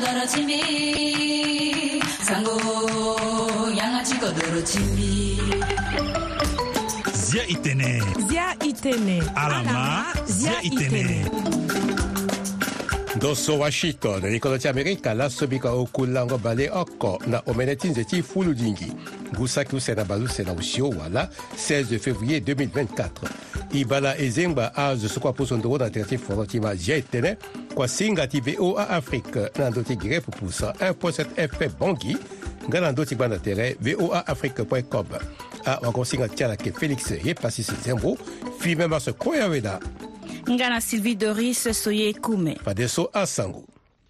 kodoro chimbi sango yanga chi kodoro chimbi Zia itene alama zia itene Doso Washington, ricordati America, la sobika okulango bale oko na omenetinze ti fulu dingi. Gusaki usena balu sena usio wala 16 février 2024. Ibala ezemba az sokwa posondoro na terti forotima jetene kwa singa ti VOA Afrique nandoti gire pupusa 1.7 FP bongi nganandoti bana tere voaafrique.com. A wakonsinga tiala ke Félix Yepasi Zembo, filme maso koyaweda. Ngana Sylvie Doris Soye Koume. Padeso Asango.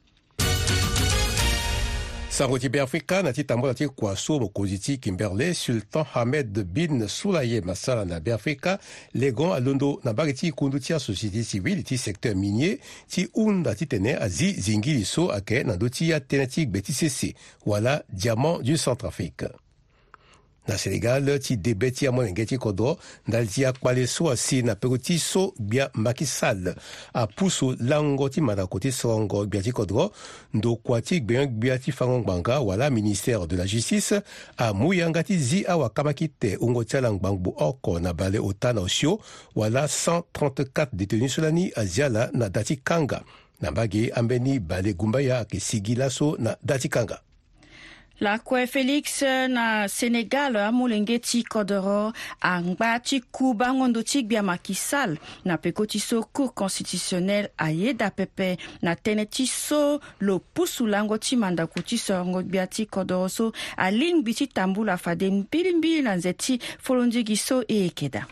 Sango Tibé Afrika na titambo ti kwaso mokoziti Kimberley Sultan Ahmed bin Soulaye Massala na Afrika legon alondo na bagiti kundutia société civile ti secteur minier ti unda ti tene azi zingili so ake na doti ya tenatik BTCC wala diamant du Centrafrique. Na Sénégal, ti debeti a monengeti kodo, dal ti akwale so asi na pegoti so bia makisal. A puso lango ti manakoti songo bia ti kodro, ndo kwati bia ti fangong banga wala ministère de la justice, a mouyanga ti zi awa kamakite ungo tia langbangbo oko na bale ota na osio, wala 134 détenus solani a ziala na dati kanga. Na bagi ambeni bale gumbaya ke sigila so na dati kanga. La kwe Félix na Sénégal amulengeti kodoro angbati kuba ngondo bia makisal na pekoti so cour constitutionnel ayeda pepe na teneti so lo pusu lango ti mandakuti so ngo biati kodoro so aling biti tambula fade mbilimbi na nzeti folondigi so ekeda.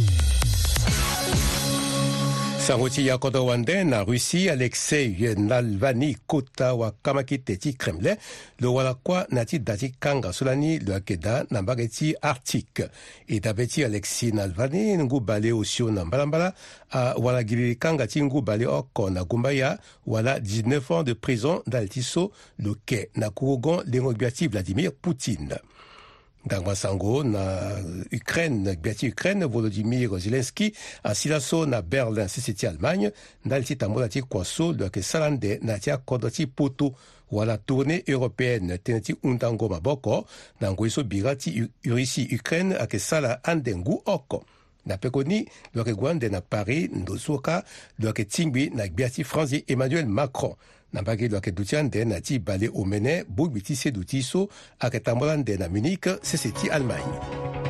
Sangoti ya kodo wande na Russie Alexei Navalny kota wa kamakite ti Kremlin lo wala kwa nati dati kanga solani lo akeda na bageti Arctique et dabeti Alexei Navalny ngu bale osio na mbalambala a wala gili kanga ti ngu bale oko na gumbaya wala 19 ans de prison d'altiso lo ke na kurogon lengo biati Vladimir Poutine. Dangwa sango na Ukraine, biati Ukraine, Volodymyr Zelensky, a silaso na Berlin, c'est Allemagne, nalti tamola ti kwaso, lo ke salande na tia kodoti poto, wala tournée européenne, teneti undango maboko, nango iso birati Russie Ukraine, a ke sala andengu oko. Na pekoni, lo ke gwande na Paris, ndosoka, lo ke tingbi na biati Franzi Emmanuel Macron. Nambagi lo ke dutiande na ti bale omene bubiti se dutiso ake tambolande na Munich c'est Allemagne.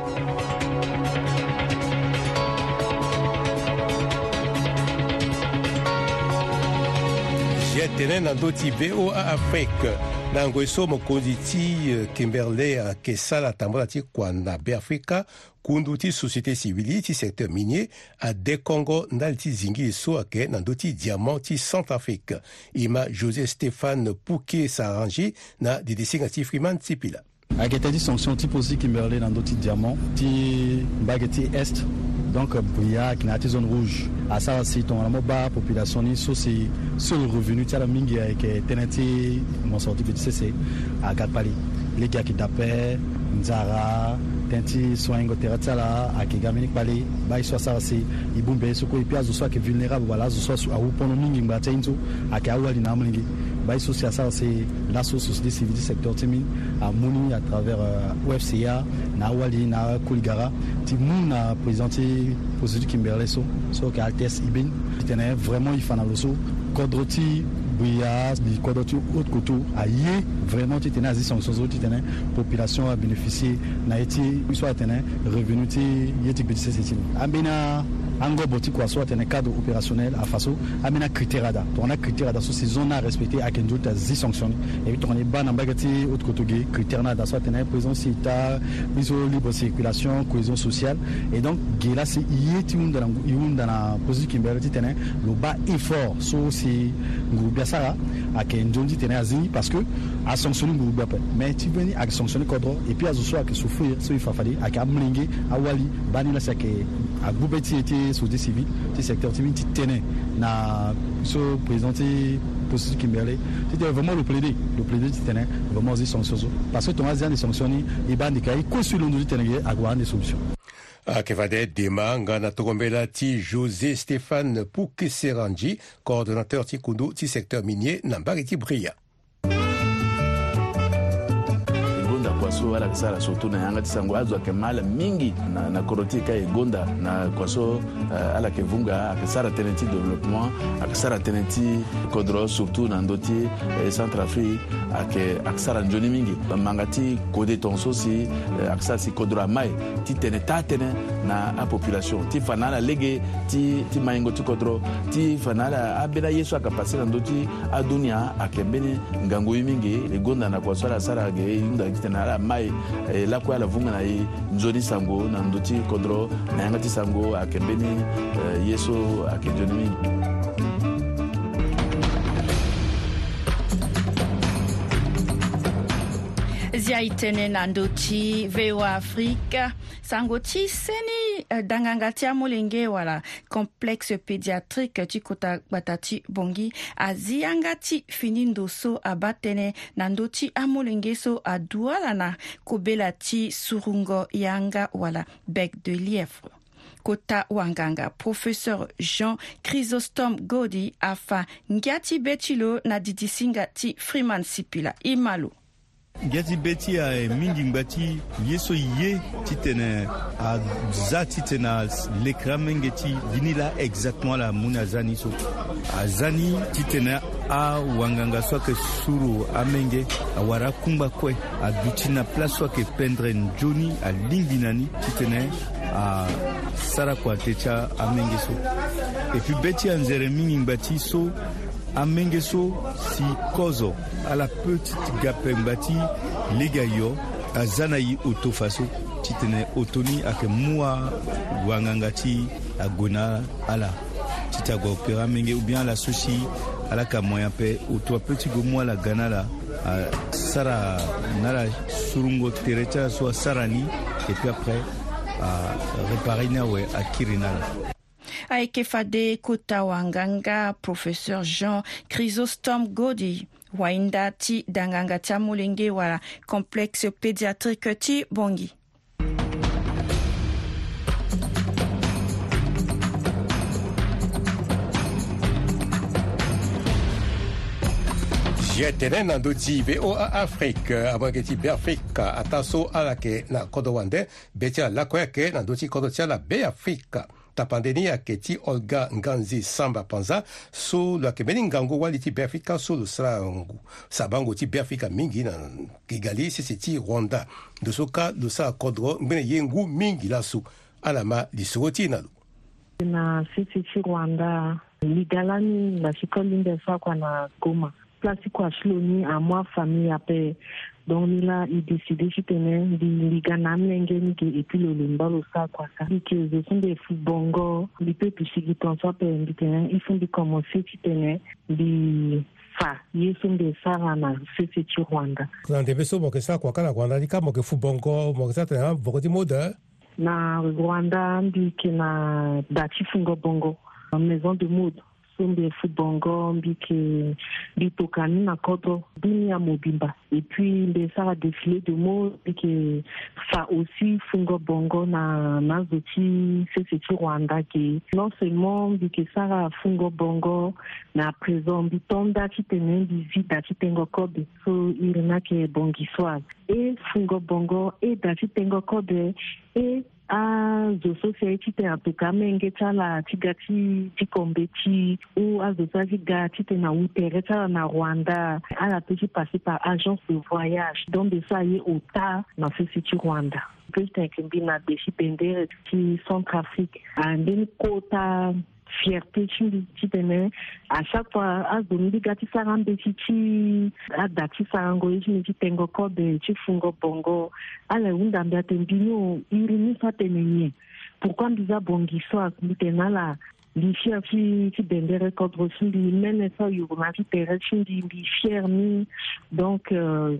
Jetene na doti VOA Afrique nango iso mokonzi ti Kimberley ke sala tambola ti kwa na Afrika kundu ti société civile ti secteur minier a de Congo ndal ti zingi so ake na doti diamant ti Centrafrique. Ima José Stéphane Pouquet s'arrange na didisinga ti Freeman Tipila. Akete ti sanction ti posi Kimberley na doti diamant ti bageti est donc bria qui na ti zone rouge à ça c'est ton la moba population ni so c'est sur le revenu ti la mingi avec tenati mon sorti BTCC à Gatpali les gars qui tapent Nzara tenti soingo teratsala akigamini pale bai so ça c'est ibumbe soko ipia zo so que vulnérable voilà zo so a upono mingi ngata inzo akawali na mlingi bai so ça c'est la société civile du secteur timi a moni à travers OFCA na wali na Kulgara ti muna présenté posé Kimberley so que Altes Ibin tenait vraiment il fana loso kodroti bouya di kodoti autre koto aye vraiment tu tenais à sanctions tu tenais population a bénéficié na eti soit tenait revenu ti yeti petit c'est ambina ango boti kwa soit tenait cadre opérationnel à faso amena critère da on a critère da so ces zones à respecter à kenjo ta zi sanction et puis on est ban ambagati autre koto ge critère na da soit tenait présence ta mise libre circulation cohésion sociale et donc gela c'est yeti unda na position Kimberley ti tenait le bas effort so c'est ngubia sara à kenjo ti tenait azini parce que a sanctionner ngubia mais tu veni à sanctionner kodro et puis azo soit que souffrir so il fa fali à kamlingi awali bani la sake a boubeti était société civile du secteur timide tenait na so présenté position Kimberley c'était vraiment le plaider qui tenait vraiment des sanctions parce que ton asian des sanctions et bandi kai ko sur le tenait à avoir des solutions. Kevade Demanga na togombela ti José Stéphane Poukeseranji, coordonnateur ti kundu ti secteur minier na Mbagiti Bria. so ala sara surtout na yanga tisango azwa ke mala mingi na koroti ka egonda na kwaso ala ke vunga akisara tenenti développement akisara tenenti kodro surtout na ndoti Centrafrique akisara njoni mingi mangati kode tonso si akisara si kodro mai ti tenetane na a population ti fanala lege ti maingo ti kodro ti fanala abela yesu akapasi na ndoti adunia akembeni ngango mingi egonda na kwaso ala sara ge yunda kitena ala mai la kwa la vunga na njoni sango na ndoti kodro na yanga ti sango akembeni yesu akenjoni mingi. Zia itene na ndoti VOA Afrique sangoti seni dangangati amolenge wala complexe pédiatrique tikota batati bongi aziangati finindo so abatene na ndoti amolenge so aduala na kobelati surungo yanga wala bec de lièvre. Kota wanganga professeur Jean Chrysostome Godi afa ngati betilo na didisingati Freeman Sipila imalo. Ngati beti a mingi ngati yeso ye titene a za titena lekramengeti vinila exactement la munazani so azani titena a wanganga soke suru amenge a wara kumba kwe a dutina place soke pendre njoni a linginani titene a sara kwa techa amenge so et puis beti anzere mingi ngati so amengeso si kozo à la petite gapembati legayo azanayi autofaso titene otoni ake mua wangangati agona ala titago opera menge ou bien la sushi ala ka moyen pe auto petit go moi la ganala sara nala surungo terecha so sarani et puis après réparer na we akirinala. Aikefade Kota Wanganga, professeur Jean Chrysostome Godi, Wainda ti danganga tamulenge wala complexe pédiatrique ti bongi. Jetene na ndoti VOA Afrique abangeti Afrika ataso alake na kodowande betia lakweke na ndoti kodotia la Be Afrika. Tapandeni ya keti Olga Nganzi Samba Panza so la kemeni ngango waliti Afrika so srangu sabango ti Afrika mingi na Kigali sisi Rwanda dosoka dosa kodro mbene yengu mingi la su alama lisoti nalu na sisi Rwanda ligalani na shikolinde sa kwa na Goma place kwa shloni a moi famille ape donc là il décidé de tenir di ganamlenge et puis le limbalo ça quoi ça que je sont des footbongo les peuples qui sont ça pe nditenir ils font de commencer ci tenir di fa ils sont des sarana c'est Rwanda na ndebeso mo ke sa kwa kana Rwanda ni kama ke footbongo mo ke sa tena bokoti mode na Rwanda ndi ke na dati fungo bongo maison de mode des footbongo mbike bitokani na kodo dunia mobimba et puis des ça défilé de mots et que ça aussi fungo bongo na zoti c'est Rwanda qui non seulement mbike ça fungo bongo na présent bitonda qui tenait visite qui tengo code so il na ke bongi soir et fungo bongo et dati tengo code et zo society te atoka menge tsala tigati tikombeti ou azosaki gati te na utere tsala na Rwanda ala petit passé par agence de voyage donc de ça y ota na sisi Rwanda que j'étais na beshi pendere ti Centrafrique andeni kota fierté ci tene à chaque fois azoni gati sarambe ci adati sarango ci tengo ko de ci fungo bongo ala unda mbia tembino irini sa tenenye pourquoi biza bongi so bitena la li fier ci bendere ko drosi li mene so yuma ci tere ci li fier ni donc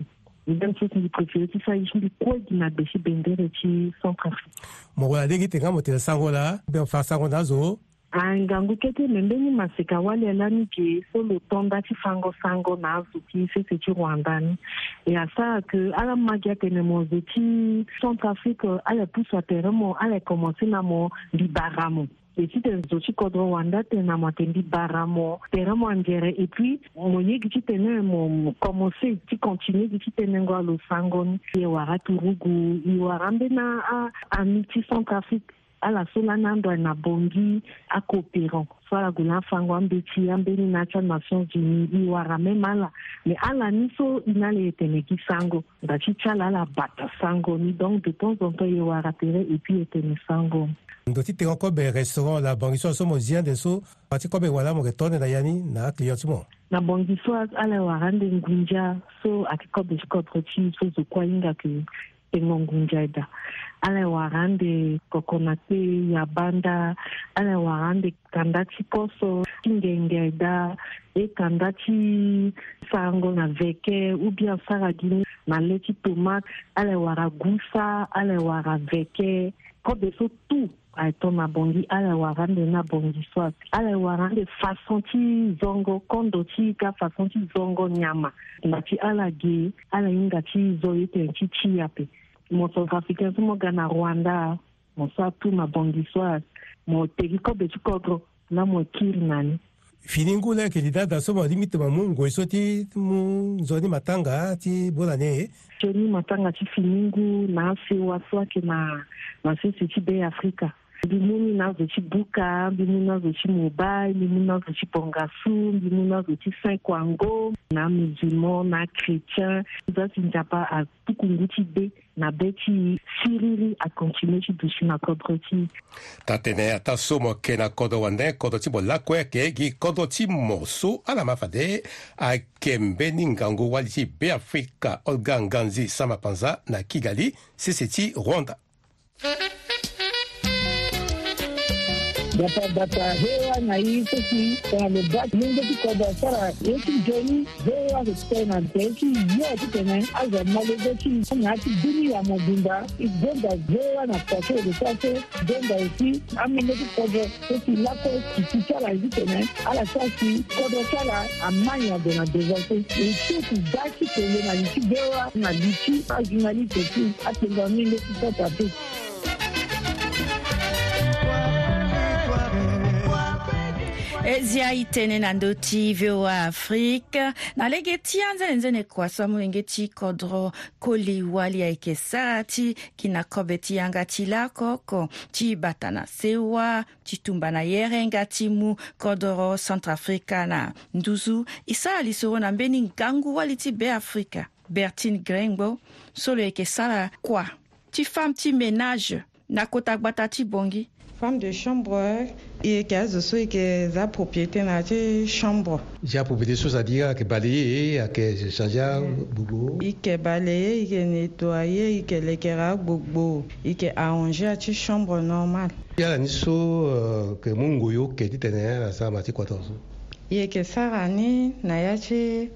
même chose ni préféré ci sa ci ko dina beshi bendere ci Centrafrique mo wala degi tenga mo tele sango la be fa sango nazo ngangu kete membeni maseka wale lani ke so le tonda ti fango sango na zuki c'est Rwanda et à ça que ala magia tene mo zeti Centrafrique ala pousse à terme ala commencer na mo libaramo et si t'es aussi kodro Rwanda t'es na matendi baramo teramo angere et puis moye qui t'es mon commencer qui continue qui t'es ngo lo sangoni et wara turugu i warambe na a miti Centrafrique à la solanando na bongi à coopérant soit la gula fangwa mbeti ambeni na Nations Unies i warame mala mais à la niso inale eteneki sango ndachi chala la bata sango ni donc de temps en temps i waratere et puis etene sango ndoti te encore be restaurant la bangiso so mozia de so pati ko be wala mo retourne na yani na client mo na bangiso ala warande ngunja so akiko be skotroti so zo kwa inga ke ngunjaida ala warande kokonate ya banda ala warande kandati poso kingengeida e kandati sango na veke ou bien saradini na leti tomate ala waragusa ala waraveke ko de so tout aito na bongi ala warande na bongi swat ala warande façon ti zongo kondo ti ka façon ti zongo nyama na ti ala ge ala inga ti zoyete ti chiape mo Centrafricain mo gana Rwanda mo sa tu na bongi swat mo tegiko be chikodro na mo kirnani finingu le ke dida so mo limite ma mungo isoti mu zoni matanga ti bolane joni matanga ti finingu na sewa so ke na sisi ti be Afrika bimuni na zo ti buka bimuni na zo ti mobile bimuni na zo ti pongasu bimuni na zo ti Saint-Kwango na musulman na chrétien za si njapa a tukungu ti be na beti siriri a continuer ti dusi na kodro ti tatene ata so mo ke na kodo wande kodo ti bo lakwe ke gi kodo ti mo so ala mafade a kembe ningango wali ti be Afrika Olga Nganzi Samapanza na Kigali sisi Rwanda. Data hewa na hii sisi kwa mbaki mungu tukoda sara yeki joni hewa kutena teki yote tena aza malezeki ngati dunia mobimba igonda hewa na kwacho de kwacho donda isi amene tukoda sisi lako kichara tena ala sasi kodo sala amanya de na devote isi daki tele na isi hewa na bichi ajinali teki atenga minde tutata tu. Zia itene na ndoti VOA Afrique na legeti anza nzene kwa samu ngeti kodro koli wali aikesati kina kobeti yanga tilako ko ti batana sewa ti tumbana yere ngati mu kodro Centrafrica na nduzu isa alisoro na mbeni ngangu wali ti be Africa Bertine Grengbo solo aikesala kwa ti femme ti ménage na kota gbata ti bongi femme de chambre et qui a za propriété na chambre. J'ai propriété c'est-à-dire que balayer, que changer bobo. Il que balayer, il que nettoyer, il que l'éclairage bobo, il que arranger à ti chambre normale. Il y a niso que mungoyo que dit tenir ça mati 14. Il que ça rani na ya ti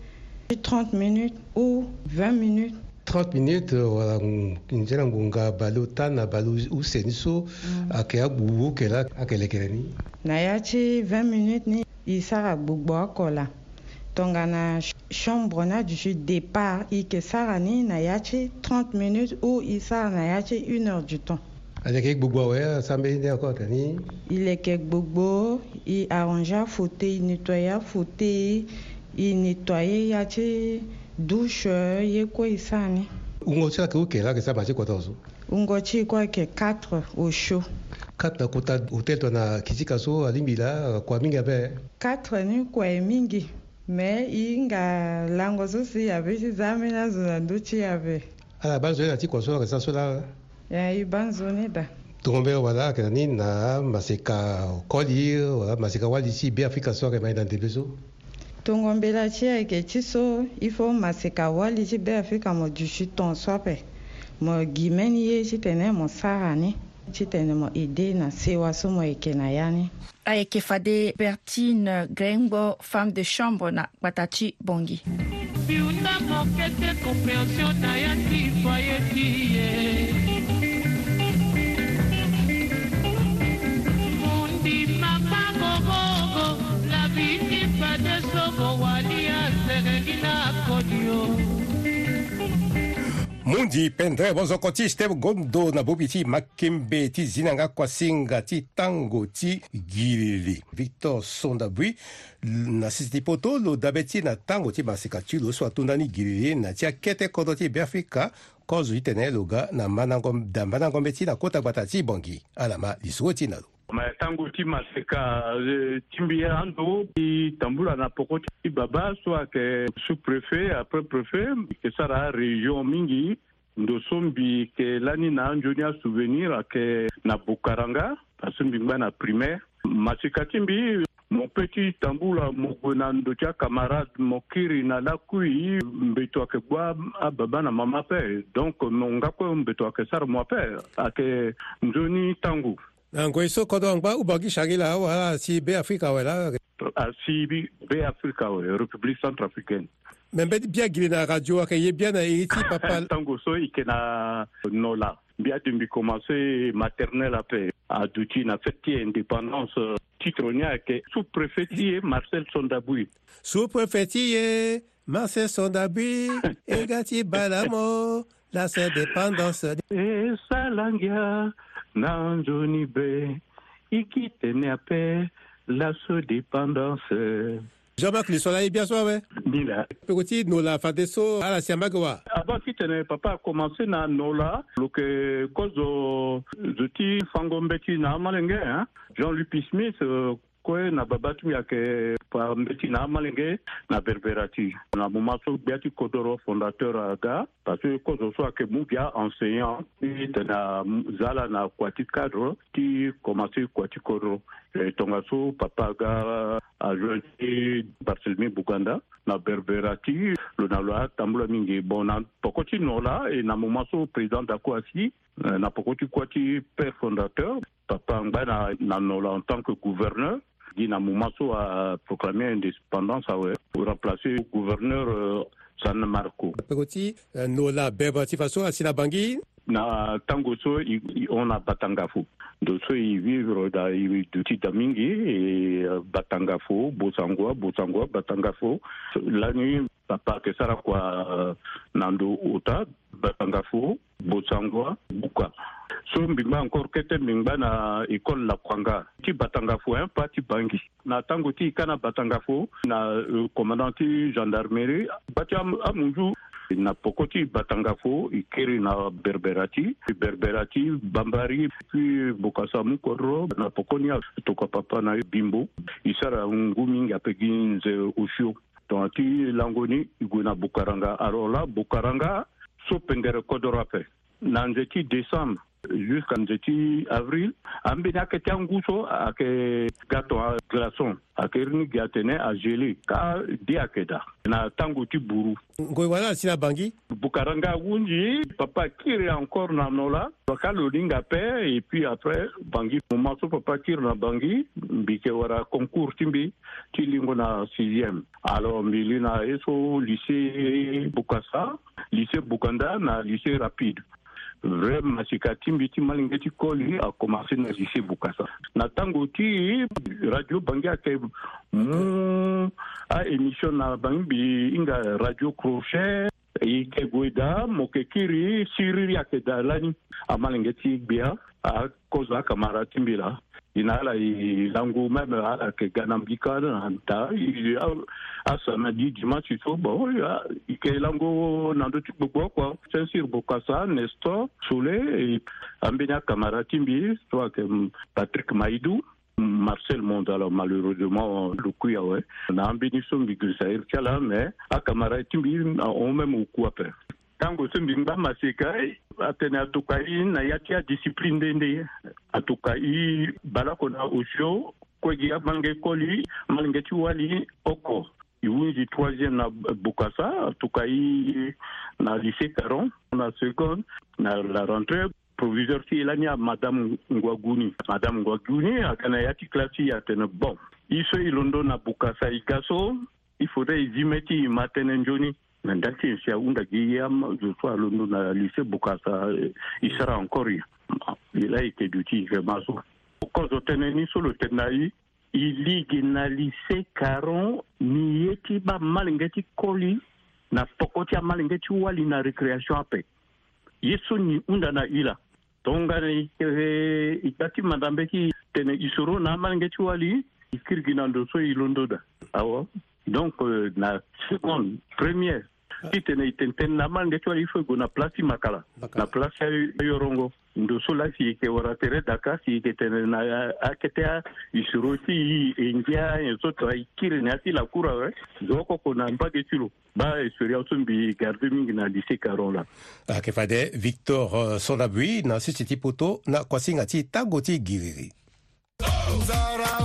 30 minutes ou 20 minutes. 30 minutes wala njera ngunga balu tana balu useniso akea bubu kela akelekeleni na yachi 20 minutes ni isara gbogbo akola tonga na chambre na du départ ike sara ni na yachi 30 minutes ou isara na yachi 1 heure du temps avec gbogbo ouais sambe ni encore tani il est que gbogbo il arranger fauteuil nettoyer fauteuil il nettoyer yachi douche yeko isani ungocha ke ukela ke ça marché 14 ungochi kwa ke 4 au chaud 4 na kota hotel tona kijika so alimbila kwa mingi abe 4 ni kwa mingi mais inga lango so si abe si zamena zona ndochi abe ala banzo na ti kwa so ke ça so la ya ibanzo ne da tombe wala ke ni na maseka koli wala maseka wali si be Afrika so ke mai dans des besoins tongombela chia ke tiso il faut maseka wali ti be Afrika mo du chiton swape mo gimeni ye ti tene mo sarani ti tene mo ide na sewa so mo eke na yani ayeke fade Bertine Grengbo femme de chambre na batati bongi biunda mo kete compréhension na ya ti foyer ti mundi mama gogo la vie de sobo wali a serena kodio Mundi pendre bozokoti step gondo na bobiti makembe ti zinanga kwasinga ti tango ti girili. Victor Sondabui na sisi poto lo dabeti na tango ti masika ti lo so atundani girili na ti akete kodo ti Biafrika kozo itene loga na manangombe ti na kota gbata ti bongi alama lisuo ti na lo. Tango ti maseka timbi ando i tambula na poko ti baba soit que sous-préfet après préfet que sara région mingi ndo sombi ke lani na anjonia souvenir ke na Bukaranga parce que mbingba na primaire maseka timbi mon petit tambula mokona ndo tia camarade mokiri na lakui mbeto ke bwa baba na mama pe donc monga ko mbeto ke sara mo pe ake njoni tangu Ngweso kodo angba ubagi shagila wala si be Afrika wala si be Afrika wala République centrafricaine. Membe bien gili na radio akaye bien na iti papa tango so ikena nola bien de commencer maternelle après à douti na fête indépendance titronia que sous-préfet Marcel Sondabui. Sous-préfet Marcel Sondabui egati balamo la indépendance et salangia Nanjoni be, ikitene ape, la dépendance. Jean-Marc, le soleil bien soir, Nila. Petit, nous la fadeso à la Siamagua. Avant kitene, papa a commencé na nola, lo que cause zoti fangombeti na malenge, hein. Jean-Luc Smith, quoi na babatu yake pa mbeti na malenge na berberati. Na momaso biati kodoro fondateur aga, parce que cause soit que mubia enseignant, na zala na kwati cadre, qui commencé kwati kodoro. Tongaso papa aga a joué Barcelone Buganda na berberati le naloa tambula mingi bon na pokoti nola et na momaso président d'Akwasi na pokoti kwati père fondateur papa ngba na nola en tant que gouverneur Guina Moumasso a proclamé indépendance pour remplacer le gouverneur San Marco. Pekoti, Nola Beba Tifaso, Asina Bangui. Na Tangoso, on a Batangafo. Doso, ils vivent dans les Damingi et Batangafo, Bosangwa, Batangafo. La nuit, papa, que ça quoi, Nando Ota, Batangafo, Bosangwa, Buka. So mbimba encore kete mbimba na école la Kwanga ti Batangafo un pas ti Bangi na tango ti kana Batangafo na commandant ti gendarmerie bati amunju na pokoti Batangafo ikeri na berberati bambari puis bokasa mukoro na pokoni toka papa na bimbo isara ngumi ngapeginze ushu tonti langoni iguna Bukaranga alors là Bukaranga so pendere kodorape na nzeti décembre jusqu'à avril, ambina ke tianguso ake gato a glaçon akerni gatene a gelé ka diakeda na tango ti buru ngoi wala sina Bangi Bukaranga wunji papa kiri encore na nola bakalo linga pe et puis après Bangi momaso papa kiri na Bangi bike wara concours timbi ti lingo na 6e alors milina eso lycée Bukasa lycée Bukanda na lycée rapide vraiment masika timbiti malingeti koli a commencé na lycée Bukasa na tango ti radio Bangi ake a émission na Bangi inga radio crochet ike goida mokekiri siriri ake dalani a malingeti bia a koza kamara timbila inala langu même ala ke ganambika nta a samedi dimanche so bon ike langu nando tikbo quoi Saint-Cyr Bokassa Nestor Soulé ambenya kamara timbi toi que Patrick Maïdou Marcel Mondala malheureusement le coup na ambeni so mbigrisa irkala mais a kamara timbi on même au coup après tango sembimba maseka atene atukai na yatia discipline dende atukai balako na osho kwegi abange koli malingeti wali oko iwunji 3e na Bukasa atukai na lycée Caron na seconde na la rentrée proviseur ti elania madame Ngwaguni akana yati klasi atene bon iso ilondo na Bukasa ikaso il faudrait y matene njoni Ndaki sia unda giyam je sois le nom na lycée Bukasa il sera encore il a été d'outil vraiment quand on tenait sur le tenai il ligue na lycée Caron ni yeti ba malingeti koli na pokoti malingeti wali na récréation ape yeso ni undana ila tongane itati madambeki tene isoro na malngeti wali ikirgina ndo so ilondoda awa donc na seconde première itene itenten na malngeti wali fo gona place makala na place yorongo ndo so la si ke waratere daka si ke tene na aketea isoro si india so to ikiri na si la kura zoko kona mbage tilo ba experience mbi garde mingi na lycée Caron la ke fade Victor Sonabui na siti poto na kwasinga ti tagoti giriri Zara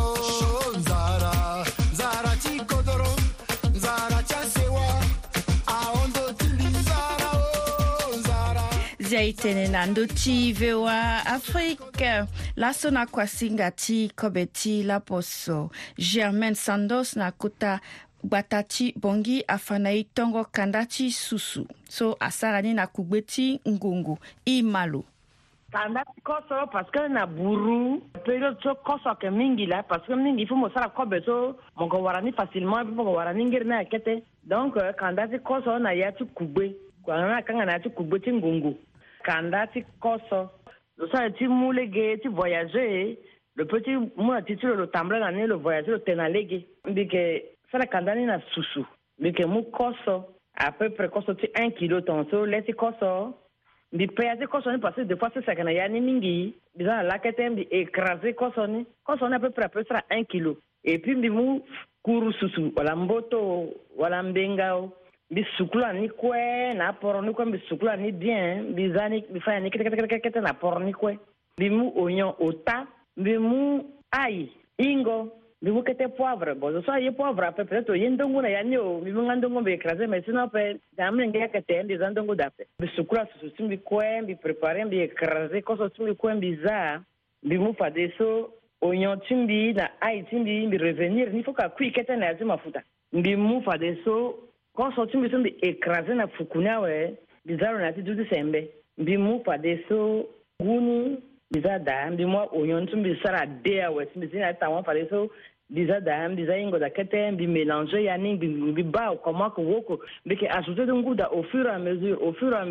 Zara Zara ti kodoro Zara chasewa aondo tili Zara Zara Zaitene nandoti vewa Afrique la sona kwasinga ti kobeti la poso Germaine Sandos na kuta Batati bongi afanai tongo kandati susu so asarani na kugbeti ngungu imalo kandati koso parce que na buru période so koso ke mingi la parce que mingi faut mo sara kobe so mo go warani facilement mo go warani ngir na kete donc kandati koso na yatu kugbe kwa na kanga na yatu kugbeti ngungu kandati koso so ti mulege ti voyager le petit moi titre le tambla na le voyager le tenalege mbike sala kandani na susu bike mu koso à peu près koso ti 1 kilo tonso leti koso bi peyazi koso ni parce que des fois c'est ça kana yani mingi bizana la kete bi écraser koso ni à peu près 1 kilo et puis bi mu kuru susu wala mboto wala mbengao bi sukula ni kwe na poro ni kwe bi sukula ni bien bizani bi fa ni kete na poro ni kwe bi mu oignon ota bi mu ail ingo bimu kete poivre bon so ye poivre à peu près to yendongo na yanyo bimu ngandongo be écraser mais sinon pe damne ngia kete ndi zandongo dape bisukula susu bi kwe bi préparer bi écraser ko so bi kwe biza bimu fa deso oignon timbi na ai timbi bi revenir ni faut ka kui kete na azima mafuta bimu fa deso ko so timbi bi écraser na fukuna we bizaro na ti dudu sembe bimu fa deso gunu bizada bimu oignon timbi sara dea we timbi na tawa fa deso bizada bizaingo da kete bi mélanger yani bi ba comment que woko bike ajouter de nguda au fur et à mesure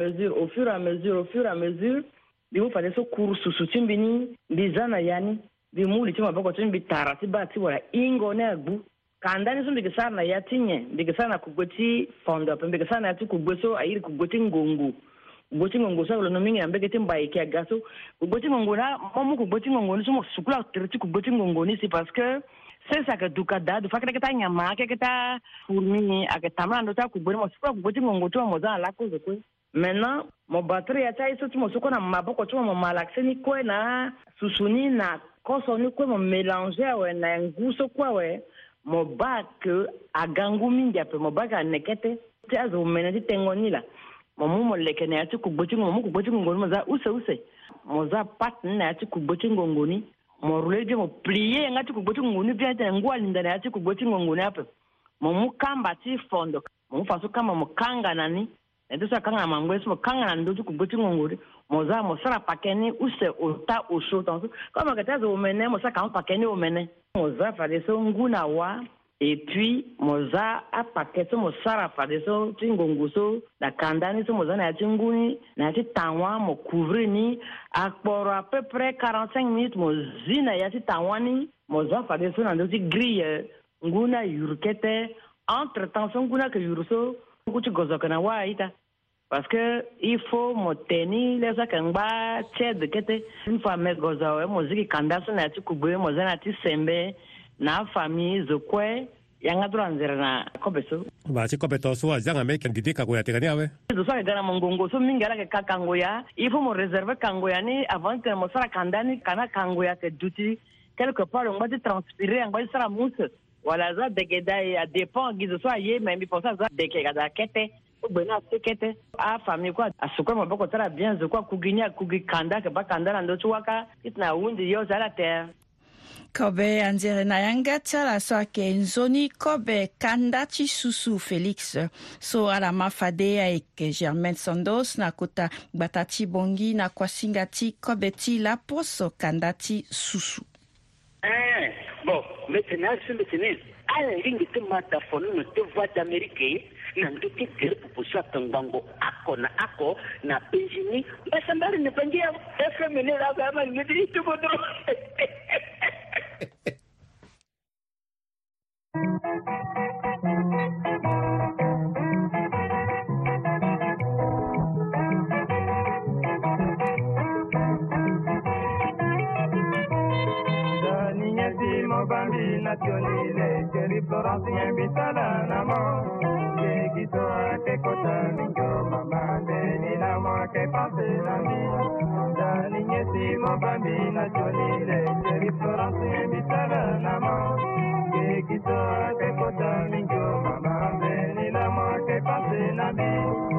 bi mu fale so kursu sutimbini bizana yani bi mu litima bako timbi tarati bati wala ingo na gbu kandani so bike sana ya tinye bike sana kugoti fondo bike sana ati kugbeso ayiri kugoti ngongo kugoti ngongo sa lo nomingi ambeke timba iki agaso kugoti ngongo na momu kugoti ngongo ni so sukula triti kugoti ngongo ni c'est parce que c'est ça que dukada du fakre keta nyama keta fourmi aketama ndo ta kuboni mo sukula kugoti ngongo to mo za la cause ko maintenant mo batterie ya tai so mo suko na maboko to mo malaxeni ko na susuni na koso ni ko mo mélanger we na nguso kwa we mo bak agangu mingi ape mo bak anekete tazo menati tengoni la mo lekene ya tu kugoti ngongo mo za use mo za pat na ya tu kugoti ngongoni mo rule mo plier ngati kugoti ngongoni bien ta ngwa linda na ya tu kugoti ngongoni ape mo mukamba ti fondo mo faso kama mo kanga nani ndo sa kanga mangweso mo kanga na ndo tu kugoti ngongoni mo za mo sara pakeni use ota osho tonso kama katazo omene mo sa kama pakeni omene mo za fa de so nguna wa et puis moza a paqueto mo sara fa de so tingongo so da kandani so moza na tinguni na ti tanwa mo couvrir ni akporo à peu près 45 minutes mo zina ya ti tanwani moza fa de so na do ti grille nguna yurkete entre temps so nguna ke yurso kuti gozoka na wa ita parce que il faut mo teni les akangba ched kete une fois me gozawe mo ziki kandaso na ti kubwe moza na ti sembe na famille zokwe yanga duranzera na kobeso ba ti kobeto so azanga me kandide ka goya tegani awe do so gara mongongo so mingala ke kakangoya il faut mo réserver kangoya ni avant que mo sara kandani kana kangoya ke duti quelque part on va te transpirer on va sara mousse wala za degeda ya dépend gizo so aye mais mi pensa za dekega da kete bena sekete a famille kwa asukwa maboko tara bien zokwa kuginya kugikanda ke bakanda ndo tuwaka itna wundi yo za la terre Kobe anzere na yanga tala so ke nzoni kobe kandati susu Felix so ala mafade avec Germaine Sandos na kota batati bongi na kwasingati kobe ti la poso kandati susu Bon, maintenant, je me à la ligne de mataphone, nous te voix d'Amérique, n'a pas été de proposition à Tangango, Ako, n'a pas gêné, mais ça m'a ne pas dire, est-ce que mener la gamme, me dit tout votre. Bambi nazionale, Jerry Florence invitala namo, che chito che cosa mingo mamande ni namo che passe la mia, da niñesimo Bambi nazionale, Jerry Florence invitala namo, che chito che cosa mingo mamande ni namo che passe la mia.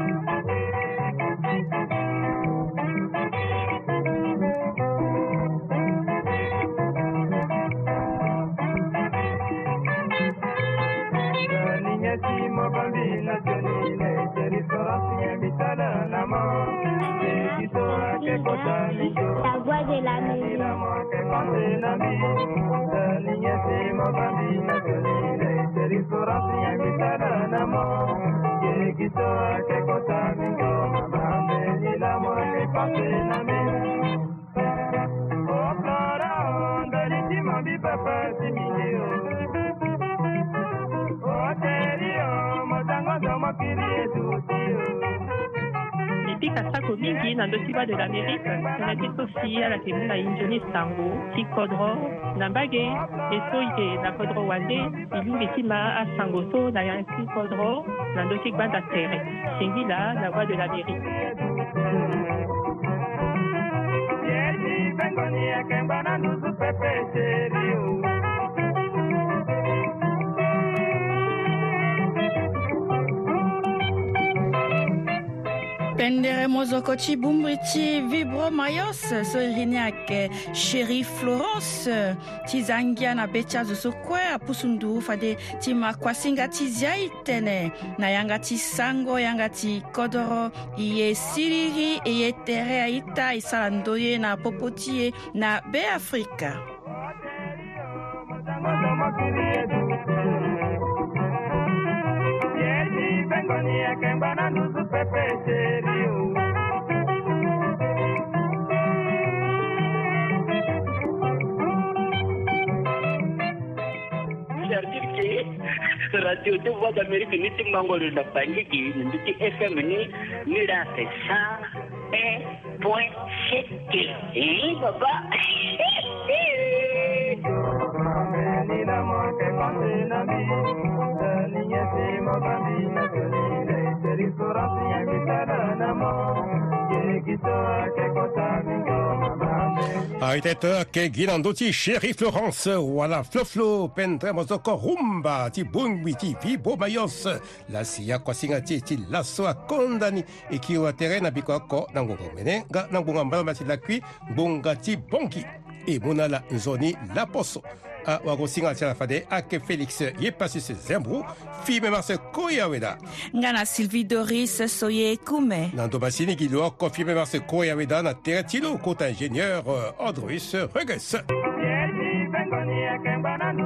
Bambina giovanile, c'è ristorante invitata namo, e chi so che cosa migliore. La voix de l'Amérique. L'amore che passe la vita, niñesimo bambina giovanile, c'è ristorante invitata namo, e chi so che cosa migliore. Bambini l'amore che passe la vita. Oh, Flora, ond'alissimo di papà si migliore. Depuis Kasako mingi na ndotiba de l'Amérique, na titosi ala kemuna injoni sango, ti kodro, na mbage, eso ike na kodro wande, ilungi tima a sango so na yanki kodro, na ndotik banda terre. Singila, la voix de l'Amérique. Yeti bengoni ya kembana nusu pepe serio. Pendere mozokochi bumbriti vibro mayos so iriniak Chéri Florence tizangia na becha zo kwe apusundu fade tima kwasinga tizia itene na yangati sango yangati kodoro iye siriri iye tere aita isalandoye na popotie na be Afrika. Radio de Voix d'Amérique, nous sommes membres de la famille qui nous dit FM, nous là c'est ça, point c'est et papa. Aitete ke ginando ti Chéri Florence wala floflo pendremos oko rumba ti bungwi ti vibo mayos la siya kwasinga ti laso a kondani e ki o terena biko ko nangongo mene ga nangonga mbala ti lakwi bonga ti bonki e monala nzoni la poso a wagosinga ti la fade ake Félix ye pasi se zembru fi me marse koyaweda ngana Sylvie Doris soye kume nando basini ki lo ko fi me marse koyaweda na teretilo kota ingénieur Audrus Reges.